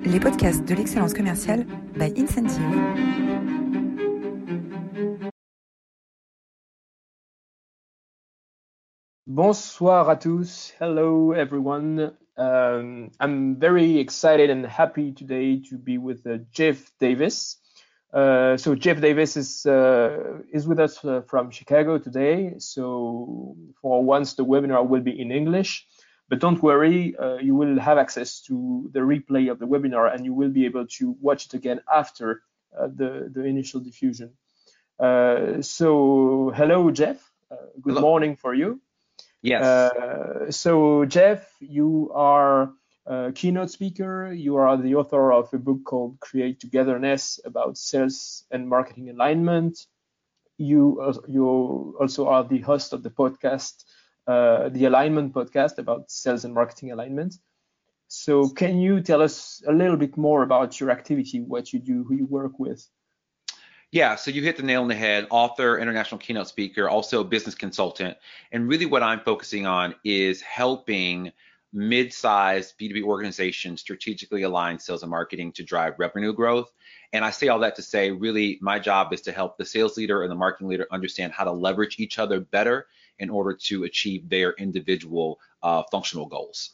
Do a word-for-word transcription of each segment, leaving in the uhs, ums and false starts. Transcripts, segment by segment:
Les podcasts de l'excellence commerciale by Incentive. Bonsoir à tous. Hello, everyone. Um, I'm very excited and happy today to be with uh, Jeff Davis. Uh, so Jeff Davis is uh, is with us uh, from Chicago today. So for once, the webinar will be in English, but don't worry, uh, you will have access to the replay of the webinar, and you will be able to watch it again after uh, the the initial diffusion. Uh, so hello, Jeff. Uh, good Hello. morning for you. Yes. Uh, so Jeff, you are a keynote speaker. You are the author of a book called Create Togetherness about sales and marketing alignment. You, uh, you also are the host of the podcast, uh, the Alignment podcast about sales and marketing alignment. So can you tell us a little bit more about your activity, what you do, who you work with? Yeah, so you hit the nail on the head. Author, international keynote speaker, also business consultant. And really what I'm focusing on is helping mid-sized B two B organizations strategically align sales and marketing to drive revenue growth. And I say all that to say, really, my job is to help the sales leader and the marketing leader understand how to leverage each other better in order to achieve their individual uh, functional goals.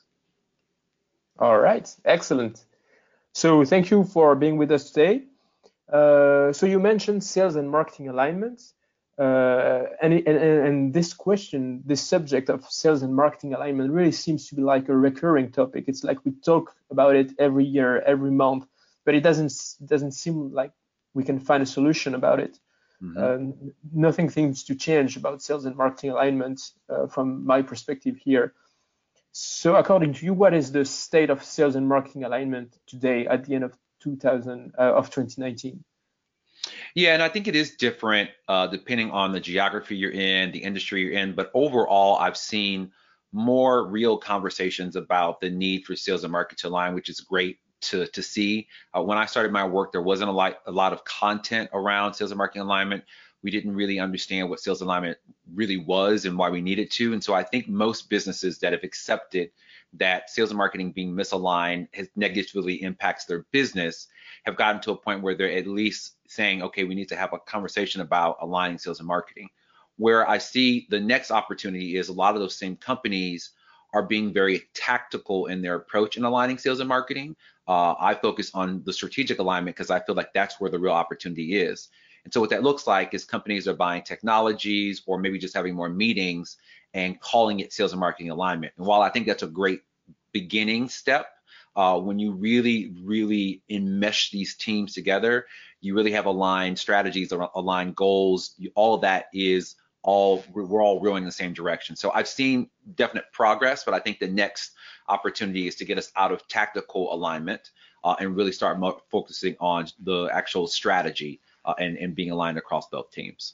All right, excellent. So thank you for being with us today. Uh, so you mentioned sales and marketing alignment, uh, and, and, and this question, this subject of sales and marketing alignment really seems to be like a recurring topic. It's like we talk about it every year, every month, but it doesn't doesn't seem like we can find a solution about it. Mm-hmm. uh, nothing seems to change about sales and marketing alignment uh, from my perspective here. So according to you, what is the state of sales and marketing alignment today at the end of two thousand uh, of twenty nineteen? Yeah, and I think it is different uh, depending on the geography you're in, the industry you're in. But overall, I've seen more real conversations about the need for sales and marketing to align, which is great to to see. Uh, when I started my work, there wasn't a lot a lot of content around sales and marketing alignment. We didn't really understand what sales alignment really was and why we needed to. And so I think most businesses that have accepted that sales and marketing being misaligned has negatively impacts their business have gotten to a point where they're at least saying, okay, we need to have a conversation about aligning sales and marketing. Where I see the next opportunity is a lot of those same companies are being very tactical in their approach in aligning sales and marketing. Uh, I focus on the strategic alignment because I feel like that's where the real opportunity is. And so what that looks like is companies are buying technologies or maybe just having more meetings and calling it sales and marketing alignment. And while I think that's a great beginning step, uh, when you really, really enmesh these teams together, you really have aligned strategies, aligned goals. You, all of that is all, we're all rowing in the same direction. So I've seen definite progress, but I think the next opportunity is to get us out of tactical alignment uh, and really start mo- focusing on the actual strategy uh, and, and being aligned across both teams.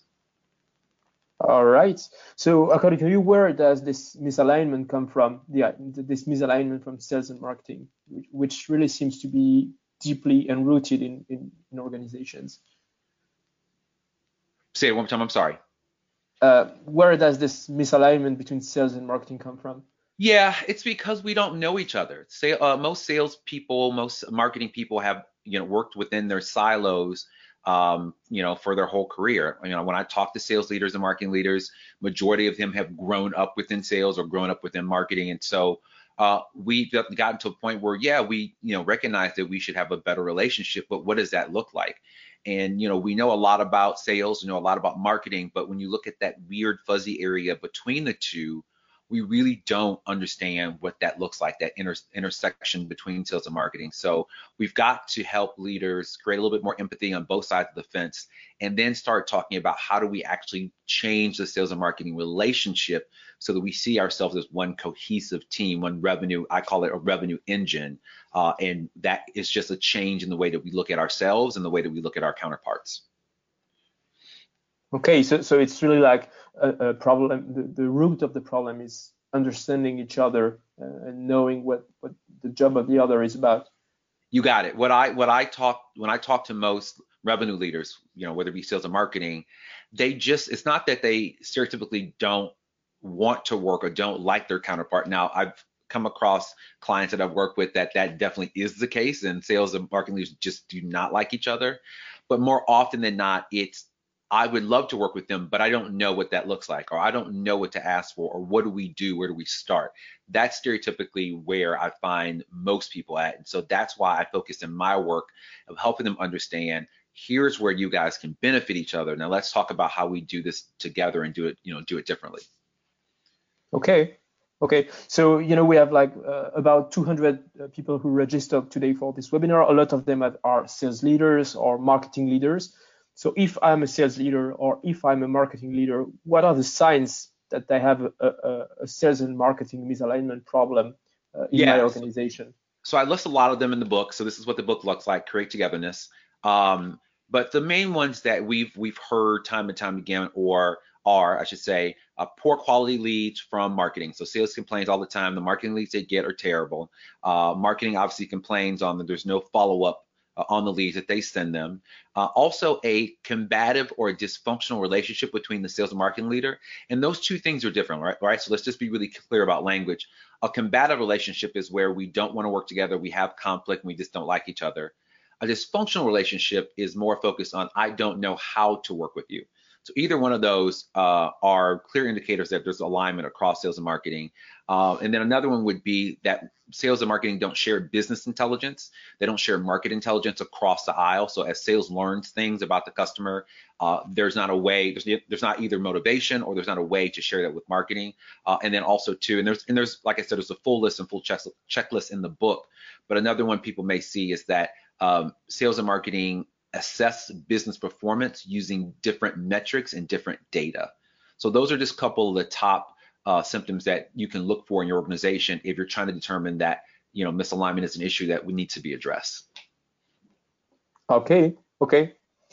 All right. So according to you, where does this misalignment come from? Yeah, this misalignment from sales and marketing, which really seems to be deeply enrooted in, in, in organizations. Say it one more time, I'm sorry. Uh, where does this misalignment between sales and marketing come from? Yeah, it's because we don't know each other. Say, uh, most sales people, most marketing people have, you know, worked within their silos, um, you know, for their whole career. You know, when I talk to sales leaders and marketing leaders, majority of them have grown up within sales or grown up within marketing. And so uh, we've gotten to a point where, yeah, we, you know, recognize that we should have a better relationship, but what does that look like? And, you know, we know a lot about sales, we know a lot about marketing, but when you look at that weird fuzzy area between the two, we really don't understand what that looks like, that inter- intersection between sales and marketing. So we've got to help leaders create a little bit more empathy on both sides of the fence, and then start talking about how do we actually change the sales and marketing relationship so that we see ourselves as one cohesive team, one revenue, I call it a revenue engine. Uh, and that is just a change in the way that we look at ourselves and the way that we look at our counterparts. Okay, so so it's really like a, a problem. The, the root of the problem is understanding each other uh, and knowing what, what the job of the other is about. You got it. What I what I talk when I talk to most revenue leaders, you know, whether it be sales or marketing, they just it's not that they stereotypically don't want to work or don't like their counterpart. Now, I've come across clients that I've worked with that that definitely is the case, and sales and marketing leaders just do not like each other. But more often than not, it's I would love to work with them, but I don't know what that looks like, or I don't know what to ask for, or what do we do? Where do we start? That's stereotypically where I find most people at. And so that's why I focus in my work of helping them understand, here's where you guys can benefit each other. Now let's talk about how we do this together and do it, you know, do it differently. Okay. Okay. So, you know, we have like uh, about two hundred uh, people who registered today for this webinar. A lot of them are sales leaders or marketing leaders. So if I'm a sales leader or if I'm a marketing leader, what are the signs that I have a, a, a sales and marketing misalignment problem uh, in yeah, my organization? So, so I list a lot of them in the book. So this is what the book looks like: Create Togetherness. Um, but the main ones that we've we've heard time and time again, or are, I should say, uh, poor quality leads from marketing. So sales complains all the time. The marketing leads they get are terrible. Uh, marketing obviously complains on that there's no follow-up uh, on the leads that they send them. Uh, also, a combative or a dysfunctional relationship between the sales and marketing leader. And those two things are different, right? right? So let's just be really clear about language. A combative relationship is where we don't want to work together. We have conflict and we just don't like each other. A dysfunctional relationship is more focused on, I don't know how to work with you. So either one of those uh, are clear indicators that there's alignment across sales and marketing. Uh, and then another one would be that sales and marketing don't share business intelligence. They don't share market intelligence across the aisle. So as sales learns things about the customer, uh, there's not a way, there's, there's not either motivation or there's not a way to share that with marketing. Uh, and then also too, and there's, and there's, like I said, there's a full list and full check, checklist in the book. But another one people may see is that um, sales and marketing assess business performance using different metrics and different data. So those are just a couple of the top uh, symptoms that you can look for in your organization if you're trying to determine that, you know, misalignment is an issue that we need to be addressed. Okay, okay.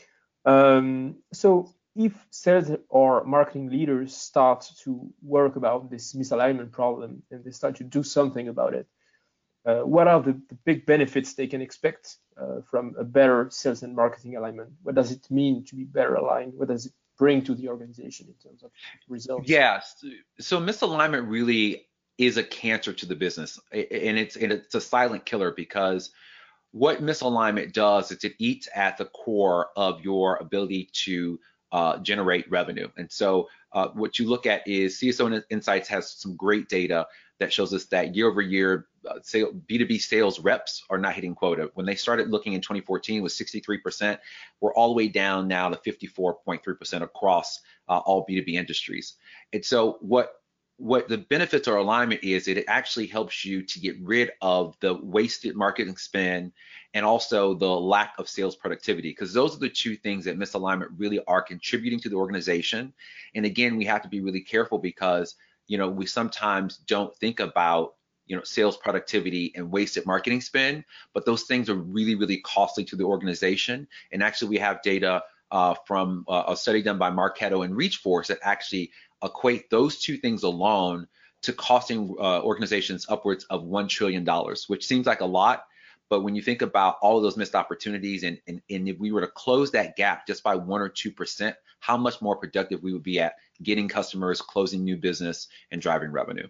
Um, so if sales or marketing leaders start to work about this misalignment problem and they start to do something about it, Uh, what are the, the big benefits they can expect uh, from a better sales and marketing alignment? What does it mean to be better aligned? What does it bring to the organization in terms of results? Yes. So misalignment really is a cancer to the business, and it's and it's a silent killer, because what misalignment does is it eats at the core of your ability to uh, generate revenue. And so uh, what you look at is C S O Insights has some great data that shows us that year over year, uh, sale, B two B sales reps are not hitting quota. When they started looking in twenty fourteen, it was sixty-three percent. We're all the way down now to fifty-four point three percent across uh, all B two B industries. And so what what the benefits or alignment is, it actually helps you to get rid of the wasted marketing spend and also the lack of sales productivity, because those are the two things that misalignment really are contributing to the organization. And again, we have to be really careful, because you know we sometimes don't think about you know sales productivity and wasted marketing spend, but those things are really really costly to the organization. And actually, we have data uh, from uh, a study done by Marketo and ReachForce that actually equate those two things alone to costing uh, organizations upwards of one trillion dollars, which seems like a lot. But when you think about all of those missed opportunities, and, and, and if we were to close that gap just by one or two percent, how much more productive we would be at getting customers, closing new business, and driving revenue.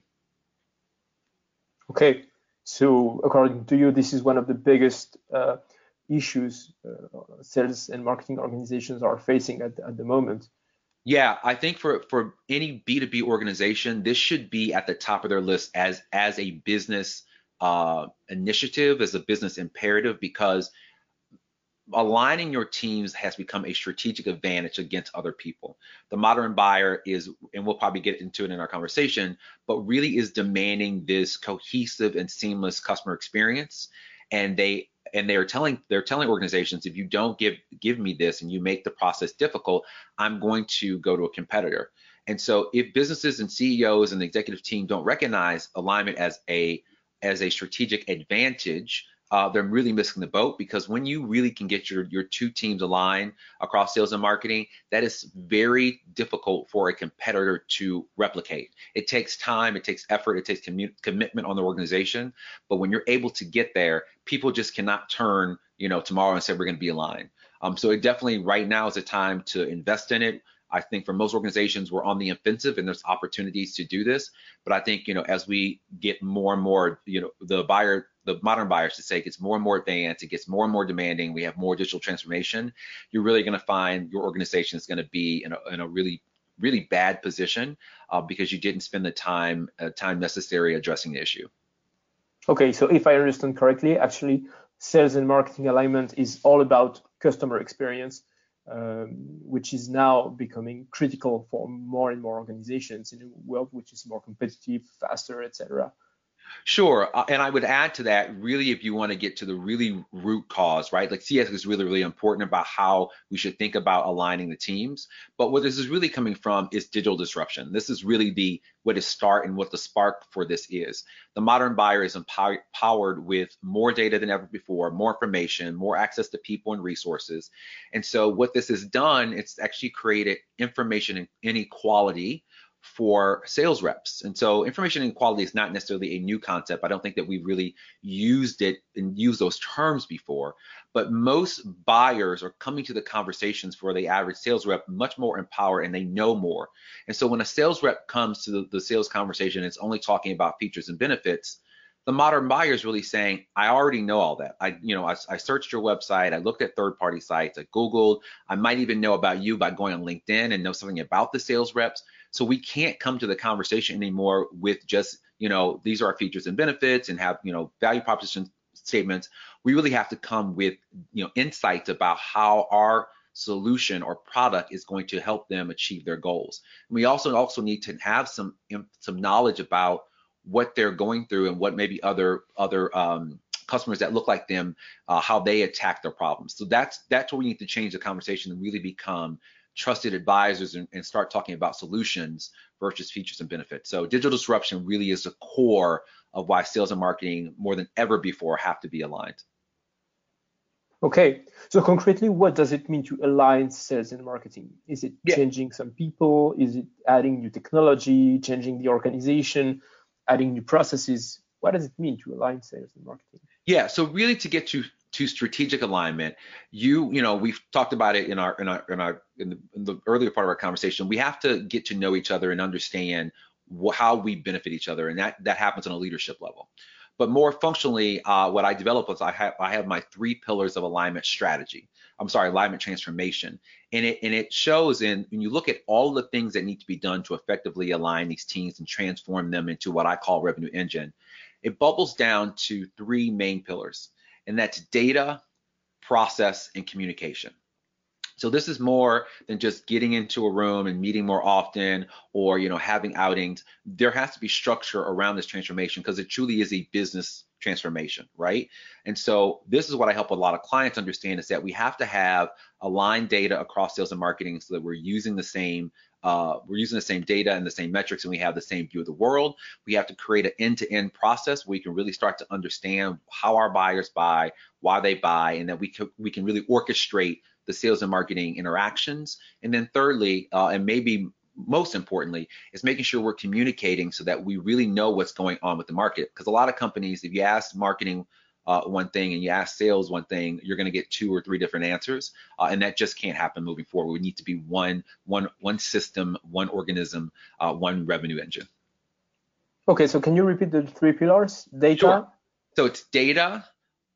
Okay, so according to you, this is one of the biggest uh, issues uh, sales and marketing organizations are facing at, at the moment. Yeah, I think for, for any B two B organization, this should be at the top of their list as, as a business uh, initiative, as a business imperative, because aligning your teams has become a strategic advantage against other people. The modern buyer is, and we'll probably get into it in our conversation, but really is demanding this cohesive and seamless customer experience. And they and they're telling they're telling organizations, if you don't give give me this and you make the process difficult, I'm going to go to a competitor. And so if businesses and C E Os and the executive team don't recognize alignment as a as a strategic advantage, Uh, they're really missing the boat, because when you really can get your, your two teams aligned across sales and marketing, that is very difficult for a competitor to replicate. It takes time, it takes effort, it takes commu- commitment on the organization. But when you're able to get there, people just cannot turn, you know, tomorrow and say we're going to be aligned. Um, so it definitely right now is a time to invest in it. I think for most organizations, we're on the offensive and there's opportunities to do this. But I think, you know, as we get more and more, you know, the buyer, the modern buyer should say, gets more and more advanced, it gets more and more demanding, we have more digital transformation, you're really going to find your organization is going to be in a, in a really, really bad position uh, because you didn't spend the time, uh, time necessary addressing the issue. Okay, so if I understand correctly, actually, sales and marketing alignment is all about customer experience, um, which is now becoming critical for more and more organizations in a world which is more competitive, faster, et cetera. Sure, uh, and I would add to that, really, if you want to get to the really root cause, right? Like C X is really, really important about how we should think about aligning the teams. But what this is really coming from is digital disruption. This is really the what is start and what the spark for this is. The modern buyer is empowered with more data than ever before, more information, more access to people and resources. And so what this has done, it's actually created information inequality for sales reps. And so information inequality is not necessarily a new concept. I don't think that we've really used it and used those terms before, but most buyers are coming to the conversations for the average sales rep much more empowered and they know more. And so when a sales rep comes to the, the sales conversation, it's only talking about features and benefits. The modern buyer is really saying, I already know all that. I, you know, I, I searched your website, I looked at third-party sites, I Googled, I might even know about you by going on LinkedIn and know something about the sales reps. So we can't come to the conversation anymore with just, you know, these are our features and benefits and have, you know, value proposition statements. We really have to come with, you know, insights about how our solution or product is going to help them achieve their goals. And we also also need to have some some knowledge about what they're going through and what maybe other other um, customers that look like them, uh, how they attack their problems. So that's that's where we need to change the conversation and really become trusted advisors and, and start talking about solutions versus features and benefits. So digital disruption really is the core of why sales and marketing more than ever before have to be aligned. Okay, so concretely, what does it mean to align sales and marketing? Is it Yeah. changing some people? Is it adding new technology, changing the organization, adding new processes? What does it mean to align sales and marketing? Yeah, so really to get to to strategic alignment, you you know we've talked about it in our in our in our in the, in the earlier part of our conversation. We have to get to know each other and understand wh- how we benefit each other, and that that happens on a leadership level. But more functionally, uh, what I develop is I have I have my three pillars of alignment strategy. I'm sorry, alignment transformation, and it and it shows in when you look at all the things that need to be done to effectively align these teams and transform them into what I call revenue engine. It bubbles down to three main pillars, and that's data, process, and communication. So this is more than just getting into a room and meeting more often or, you know, having outings. There has to be structure around this transformation because it truly is a business transformation, right? And so this is what I help a lot of clients understand is that we have to have aligned data across sales and marketing so that we're using the same Uh, we're using the same data and the same metrics, and we have the same view of the world. We have to create an end-to-end process where we can really start to understand how our buyers buy, why they buy, and that we can, we can really orchestrate the sales and marketing interactions. And then thirdly, uh, and maybe most importantly, is making sure we're communicating so that we really know what's going on with the market. Because a lot of companies, if you ask marketing Uh, one thing and you ask sales one thing, you're going to get two or three different answers, uh, and that just can't happen moving forward. We need to be one, one, one system, one organism, uh, one revenue engine. Okay, so can you repeat the three pillars? Data. Sure. So it's data,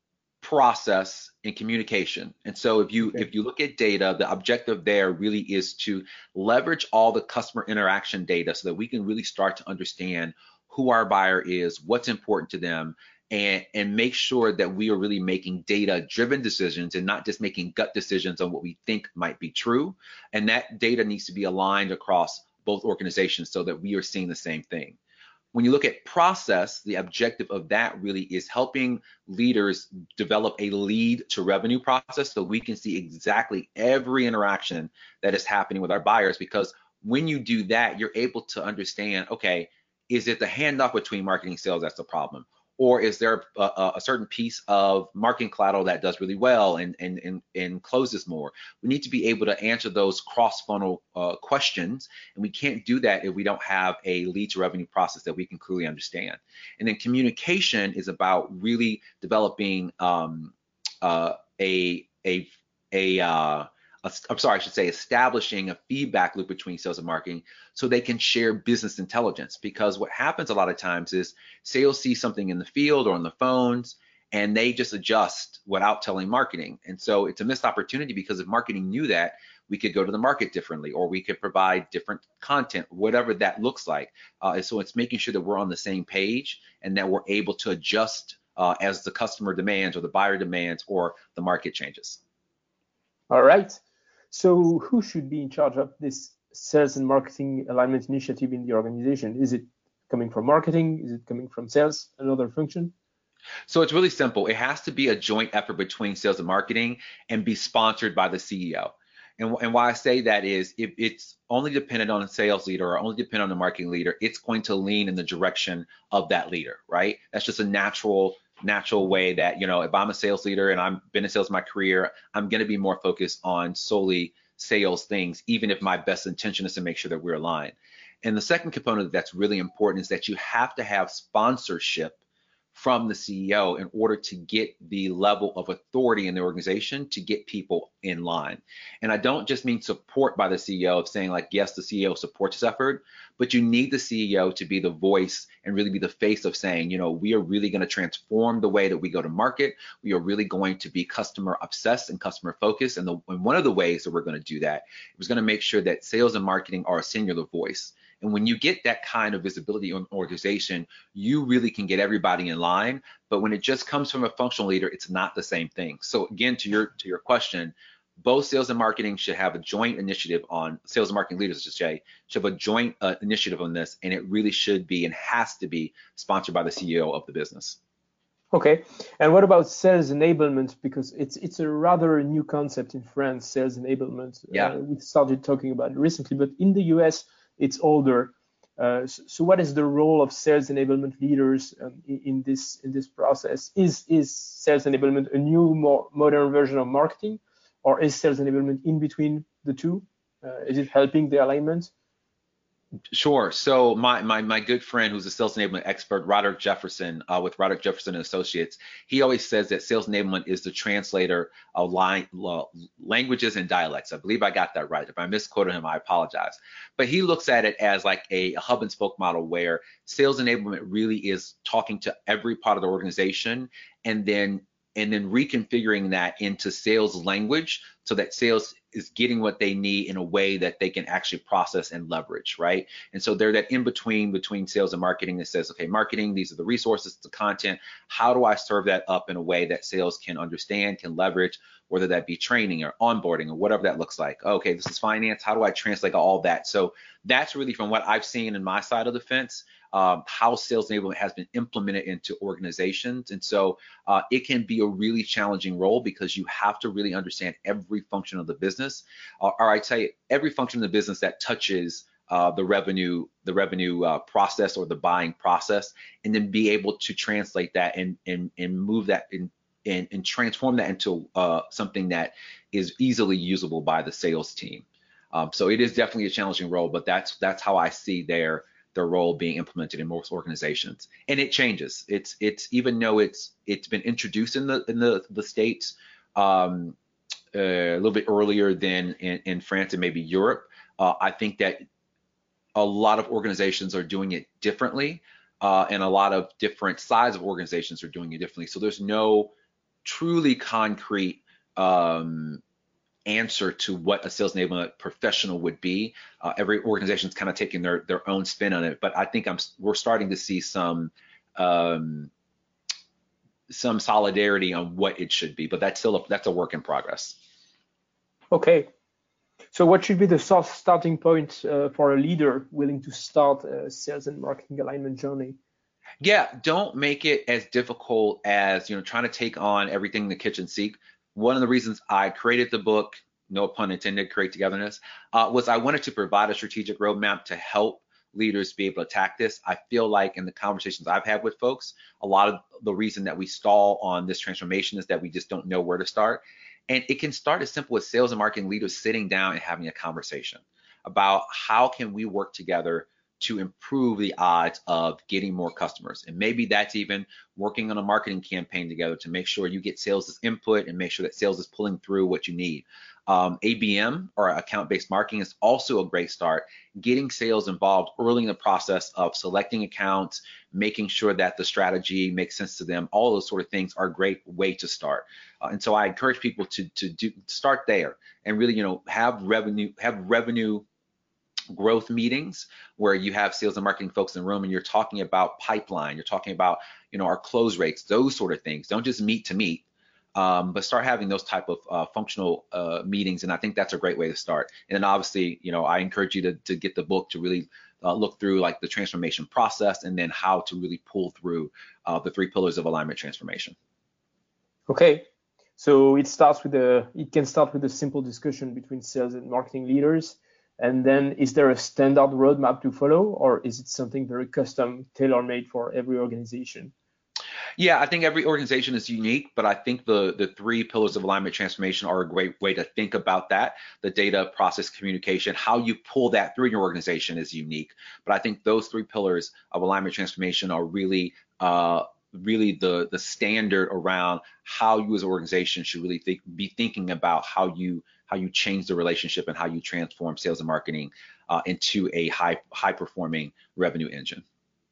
process, and communication. And so if you Okay. if you look at data, the objective there really is to leverage all the customer interaction data so that we can really start to understand who our buyer is, what's important to them, and and make sure that we are really making data-driven decisions and not just making gut decisions on what we think might be true. And that data needs to be aligned across both organizations so that we are seeing the same thing. When you look at process, the objective of that really is helping leaders develop a lead to revenue process so we can see exactly every interaction that is happening with our buyers, because when you do that, you're able to understand, okay, is it the handoff between marketing and sales that's the problem? Or is there a, a certain piece of marketing collateral that does really well and, and, and, and closes more? We need to be able to answer those cross-funnel uh, questions, and we can't do that if we don't have a lead to revenue process that we can clearly understand. And then communication is about really developing um, uh, a, a, a, uh, I'm sorry, I should say establishing a feedback loop between sales and marketing so they can share business intelligence. Because what happens a lot of times is sales see something in the field or on the phones, and they just adjust without telling marketing. And so it's a missed opportunity, because if marketing knew that, we could go to the market differently, or we could provide different content, whatever that looks like. Uh, and so it's making sure that we're on the same page and that we're able to adjust uh, as the customer demands or the buyer demands or the market changes. All right. So who should be in charge of this sales and marketing alignment initiative in the organization? Is it coming from marketing? Is it coming from sales, another function? So it's really simple. It has to be a joint effort between sales and marketing and be sponsored by the C E O. And, and why I say that is, if it's only dependent on a sales leader or only dependent on the marketing leader, it's going to lean in the direction of that leader, right? That's just a natural natural way that, you know, if I'm a sales leader and I've been in sales in my career, I'm going to be more focused on solely sales things, even if my best intention is to make sure that we're aligned. And the second component that's really important is that you have to have sponsorship from the C E O in order to get the level of authority in the organization to get people in line. And I don't just mean support by the C E O of saying like, yes, the C E O supports this effort, but you need the C E O to be the voice and really be the face of saying, you know, we are really going to transform the way that we go to market. We are really going to be customer obsessed and customer focused. And, the, and one of the ways that we're going to do that is going to make sure that sales and marketing are a singular voice. And when you get that kind of visibility in an organization, you really can get everybody in line. But when it just comes from a functional leader, it's not the same thing. So again, to your to your question, both sales and marketing should have a joint initiative on sales and marketing leaders, I should say, should have a joint uh, initiative on this, and it really should be and has to be sponsored by the C E O of the business. Okay, and what about sales enablement? Because it's it's a rather new concept in France, sales enablement. Yeah, uh, we started talking about it recently, but in the U S it's older. Uh, so, so what is the role of sales enablement leaders um, in, in this in this process? Is is sales enablement a new, more modern version of marketing, or is sales enablement in between the two? Uh, is it helping the alignment? Sure. So my my my good friend, who's a sales enablement expert, Roderick Jefferson, uh, with Roderick Jefferson and Associates, he always says that sales enablement is the translator of line, uh, languages and dialects. I believe I got that right. If I misquoted him, I apologize. But he looks at it as like a, a hub and spoke model where sales enablement really is talking to every part of the organization, and then and then reconfiguring that into sales language so that sales is getting what they need in a way that they can actually process and leverage, right? And so they're that in between between sales and marketing that says, okay, marketing, these are the resources, the content. How do I serve that up in a way that sales can understand, can leverage, whether that be training or onboarding or whatever that looks like? Okay, this is finance. How do I translate all that? So that's really from what I've seen in my side of the fence, um, how sales enablement has been implemented into organizations. And so uh, it can be a really challenging role because you have to really understand every function of the business, uh, or I tell you, every function of the business that touches uh, the revenue, the revenue uh, process or the buying process, and then be able to translate that and and and move that in and, and transform that into uh, something that is easily usable by the sales team. Um, so it is definitely a challenging role, but that's that's how I see their their role being implemented in most organizations. And it changes. It's it's even though it's it's been introduced in the in the the States um, uh, a little bit earlier than in, in France and maybe Europe. Uh, I think that a lot of organizations are doing it differently, uh, and a lot of different size of organizations are doing it differently. So there's no truly concrete um, answer to what a sales enablement professional would be. Uh, every organization is kind of taking their their own spin on it, but I think I'm we're starting to see some um, some solidarity on what it should be. But that's still a, that's a work in progress. Okay. So what should be the starting point uh, for a leader willing to start a sales and marketing alignment journey? Yeah, don't make it as difficult as, you know, trying to take on everything in the kitchen sink. One of the reasons I created the book, no pun intended, Create Togetherness, uh, was I wanted to provide a strategic roadmap to help leaders be able to attack this. I feel like in the conversations I've had with folks, a lot of the reason that we stall on this transformation is that we just don't know where to start. And it can start as simple as sales and marketing leaders sitting down and having a conversation about how can we work together to improve the odds of getting more customers. And maybe that's even working on a marketing campaign together to make sure you get sales input and make sure that sales is pulling through what you need. Um, A B M, or account-based marketing, is also a great start. Getting sales involved early in the process of selecting accounts, making sure that the strategy makes sense to them, all those sort of things are a great way to start. Uh, and so I encourage people to to do start there and really, you know, have revenue have revenue growth meetings where you have sales and marketing folks in the room and you're talking about pipeline, you're talking about, you know, our close rates, those sort of things. Don't just meet to meet. Um, but start having those type of uh, functional uh, meetings, and I think that's a great way to start. And then obviously, you know, I encourage you to, to get the book to really uh, look through like the transformation process and then how to really pull through uh, the three pillars of alignment transformation. Okay, so it starts with a, it can start with a simple discussion between sales and marketing leaders, and then is there a standard roadmap to follow, or is it something very custom, tailor-made for every organization? Yeah, I think every organization is unique, but I think the, the three pillars of alignment transformation are a great way to think about that. The data, process, communication, how you pull that through your organization is unique. But I think those three pillars of alignment transformation are really, uh, really the, the standard around how you as an organization should really think, be thinking about how you how you change the relationship and how you transform sales and marketing uh, into a high high performing revenue engine.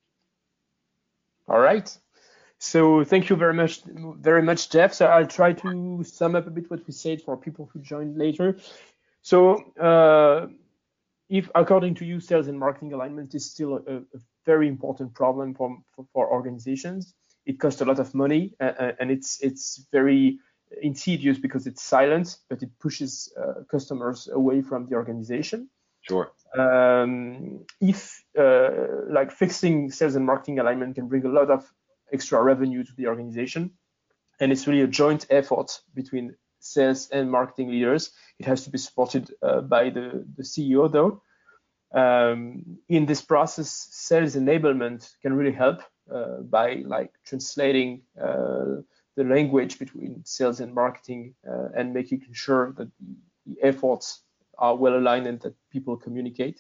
All right. So thank you very much, very much, Jeff. So I'll try to sum up a bit what we said for people who join later. So uh, if, according to you, sales and marketing alignment is still a, a very important problem for, for, for organizations. It costs a lot of money, uh, and it's it's very insidious because it's silent, but it pushes uh, customers away from the organization. Sure. Um, if uh, like fixing sales and marketing alignment can bring a lot of extra revenue to the organization, and it's really a joint effort between sales and marketing leaders. It has to be supported uh, by the, the C E O though. Um, in this process, sales enablement can really help uh, by like translating uh, the language between sales and marketing uh, and making sure that the efforts are well aligned and that people communicate.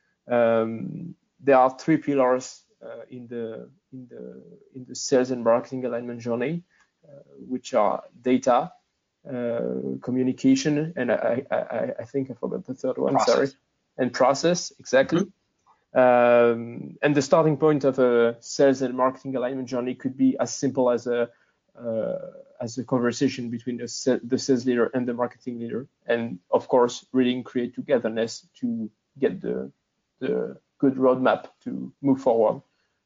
Um, there are three pillars Uh, in the in the in the sales and marketing alignment journey, uh, which are data, uh, communication, and I, I I think I forgot the third one. Process. Sorry, and process exactly. Mm-hmm. Um, and the starting point of a sales and marketing alignment journey could be as simple as a uh, as a conversation between the the sales leader and the marketing leader, and of course, really create togetherness to get the the good roadmap to move forward.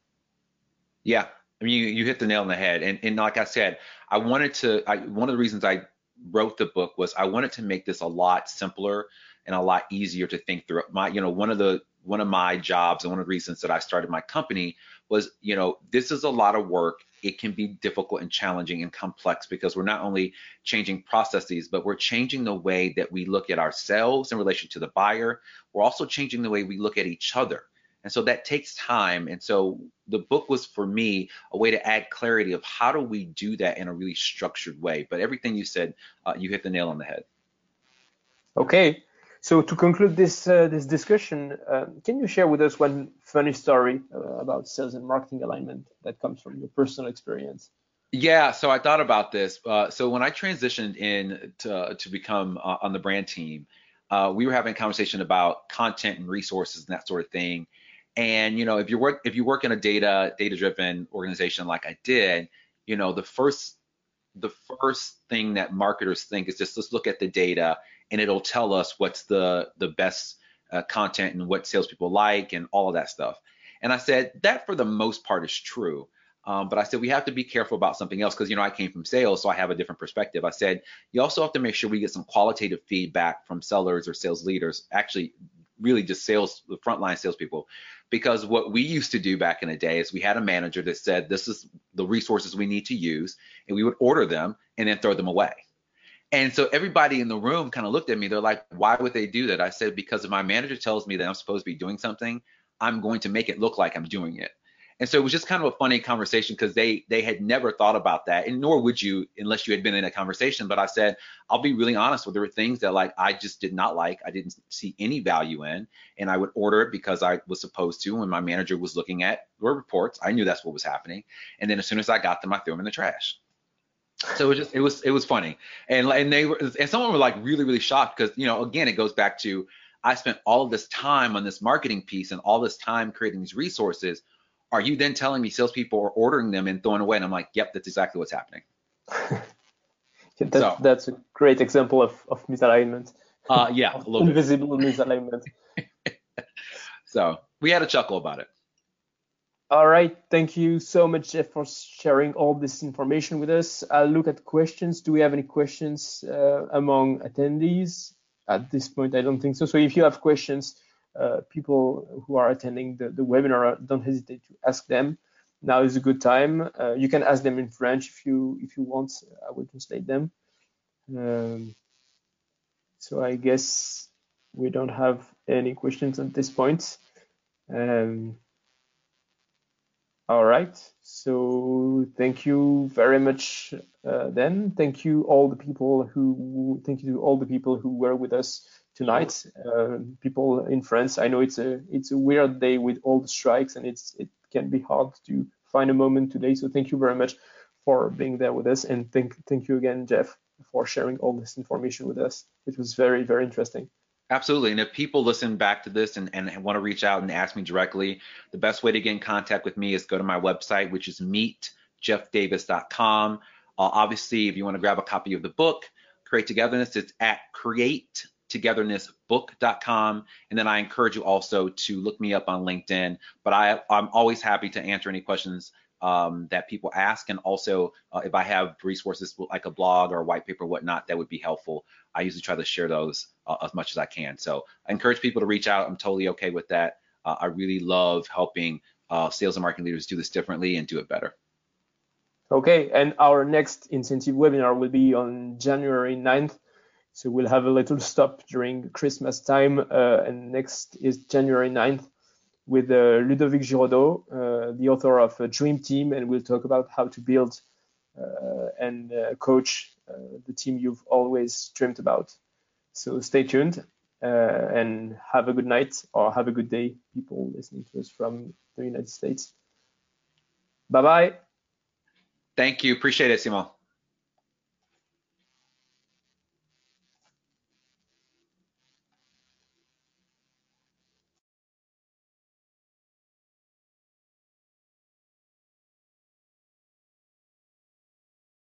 Yeah, I mean, you, you hit the nail on the head. And, and like I said, I wanted to, I, one of the reasons I wrote the book was I wanted to make this a lot simpler and a lot easier to think through. My, you know, one of the, one of my jobs and one of the reasons that I started my company was, you know, this is a lot of work. It can be difficult and challenging and complex because we're not only changing processes, but we're changing the way that we look at ourselves in relation to the buyer. We're also changing the way we look at each other. And so that takes time. And so the book was, for me, a way to add clarity of how do we do that in a really structured way. But everything you said, uh, you hit the nail on the head. Okay. So to conclude this uh, this discussion, uh, can you share with us one funny story uh, about sales and marketing alignment that comes from your personal experience? Yeah, so I thought about this. Uh, so when I transitioned in to, to become uh, on the brand team, uh, we were having a conversation about content and resources and that sort of thing. And, you know, if you work, if you work in a data, data-driven organization like I did, you know, the first, the first thing that marketers think is just, let's look at the data and it'll tell us what's the, the best uh, content and what salespeople like and all of that stuff. And I said, that for the most part is true. Um, but I said, we have to be careful about something else because, you know, I came from sales, so I have a different perspective. I said, you also have to make sure we get some qualitative feedback from sellers or sales leaders, actually really just sales, the frontline salespeople. Because what we used to do back in the day is we had a manager that said, this is the resources we need to use, and we would order them and then throw them away. And so everybody in the room kind of looked at me. They're like, why would they do that? I said, because if my manager tells me that I'm supposed to be doing something, I'm going to make it look like I'm doing it. And so it was just kind of a funny conversation because they they had never thought about that, and nor would you unless you had been in a conversation. But I said, I'll be really honest with, there were things that like I just did not like, I didn't see any value in, and I would order it because I was supposed to. When my manager was looking at your reports, I knew that's what was happening. And then as soon as I got them, I threw them in the trash. So it was just it was it was funny, and and they were and someone were like really really shocked because, you know, again, it goes back to, I spent all of this time on this marketing piece and all this time creating these resources. Are you then telling me salespeople are ordering them and throwing away? And I'm like, yep, that's exactly what's happening. Yeah, that's, so, that's a great example of, of misalignment. Uh, yeah, a little invisible bit. Misalignment. So we had a chuckle about it. All right. Thank you so much, Jeff, for sharing all this information with us. I'll look at questions. Do we have any questions uh, among attendees? At this point, I don't think so. So if you have questions, Uh, people who are attending the, the webinar, don't hesitate to ask them. Now is a good time. Uh, you can ask them in French if you if you want. I will translate them. Um, so I guess we don't have any questions at this point. Um, all right. So thank you very much. Uh, then thank you all the people who thank you to all the people who were with us tonight. Uh, people in France, I know it's a it's a weird day with all the strikes, and it's it can be hard to find a moment today. So thank you very much for being there with us, and thank thank you again, Jeff, for sharing all this information with us. It was very very interesting. Absolutely. And if people listen back to this and, and want to reach out and ask me directly, the best way to get in contact with me is go to my website, which is meet jeff davis dot com. Uh, obviously, if you want to grab a copy of the book, Create Togetherness, it's at create togetherness book dot com. And then I encourage you also to look me up on LinkedIn. But I, I'm always happy to answer any questions um, that people ask. And also, uh, if I have resources like a blog or a white paper, whatnot, that would be helpful. I usually try to share those uh, as much as I can. So I encourage people to reach out. I'm totally okay with that. Uh, I really love helping uh, sales and marketing leaders do this differently and do it better. Okay, and our next incentive webinar will be on January ninth. So we'll have a little stop during Christmas time, uh, and next is January ninth with uh, Ludovic Giraudot, uh, the author of uh, Dream Team, and we'll talk about how to build uh, and uh, coach uh, the team you've always dreamed about. So stay tuned uh, and have a good night or have a good day, people listening to us from the United States. Bye-bye. Thank you. Appreciate it, Simon.